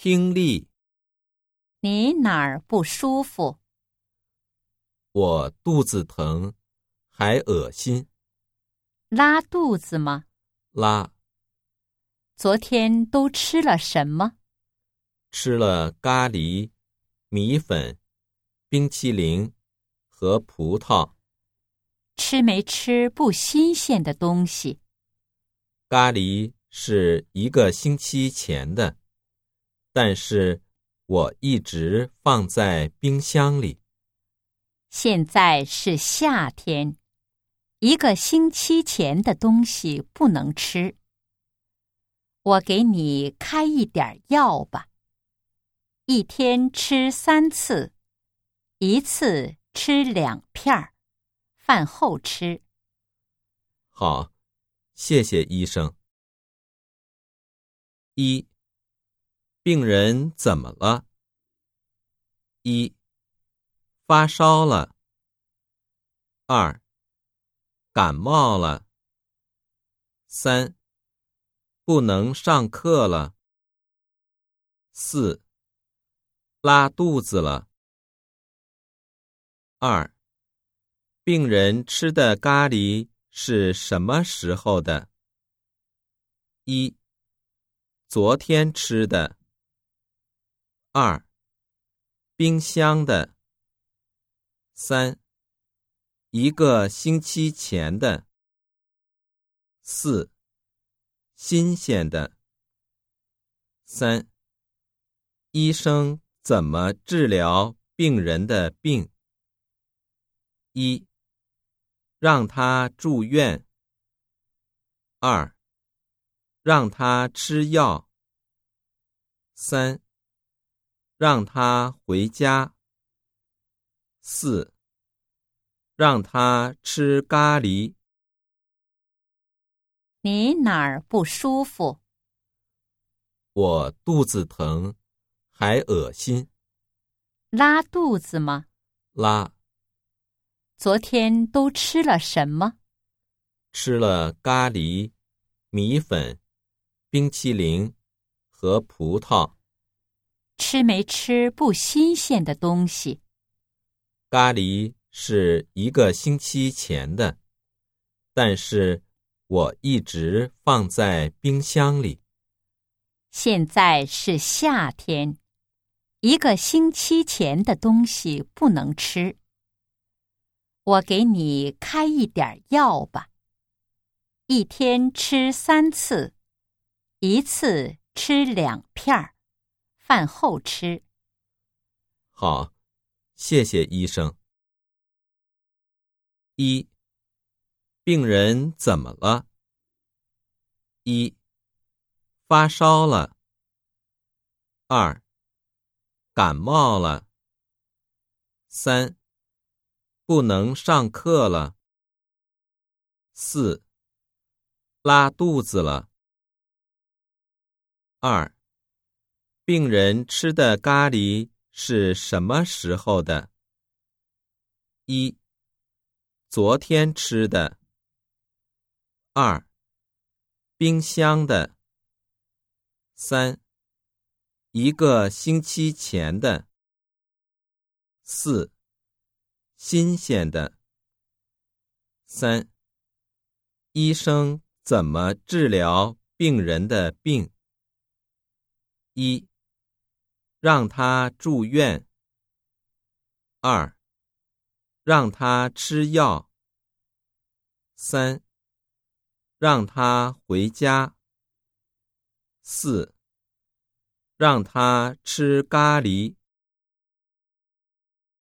听力。 你哪儿不舒服？ 我肚子疼，还恶心。 拉肚子吗？ 拉。 昨天都吃了什么？ 吃了咖喱、米粉、冰淇淋和葡萄。 吃没吃不新鲜的东西？ 咖喱是1个星期前的，但是我一直放在冰箱里。 现在是夏天，1个星期前的东西不能吃。我给你开一点药吧，一天吃3次，1次吃2片，饭后吃。 好，谢谢医生。1. 病人怎么了？1. 发烧了。2. 感冒了。3. 不能上课了。4. 拉肚子了。2. 病人吃的咖喱是什么时候的？1. 昨天吃的。2. 冰箱的。3. 1个星期前的。4. 新鲜的。3. 医生怎么治疗病人的病？1. 让他住院。2. 让他吃药。3. 让他回家。4. 让他吃咖喱。 你哪儿不舒服？ 我肚子疼，还恶心。 拉肚子吗？ 拉。 昨天都吃了什么？ 吃了咖喱、米粉、冰淇淋和葡萄。 吃没吃不新鲜的东西？ 咖喱是1个星期前的，但是我一直放在冰箱里。 现在是夏天，1个星期前的东西不能吃。我给你开一点药吧，一天吃3次，1次吃2片，饭后吃。 好，谢谢医生。1. 病人怎么了？1. 发烧了。2. 感冒了。3. 不能上课了。4. 拉肚子了。2. 病人吃的咖喱是什么时候的？1. 昨天吃的。2. 冰箱的。3. 1个星期前的。4. 新鲜的。3. 医生怎么治疗病人的病？1. 让他住院。2. 让他吃药。3. 让他回家。4. 让他吃咖喱。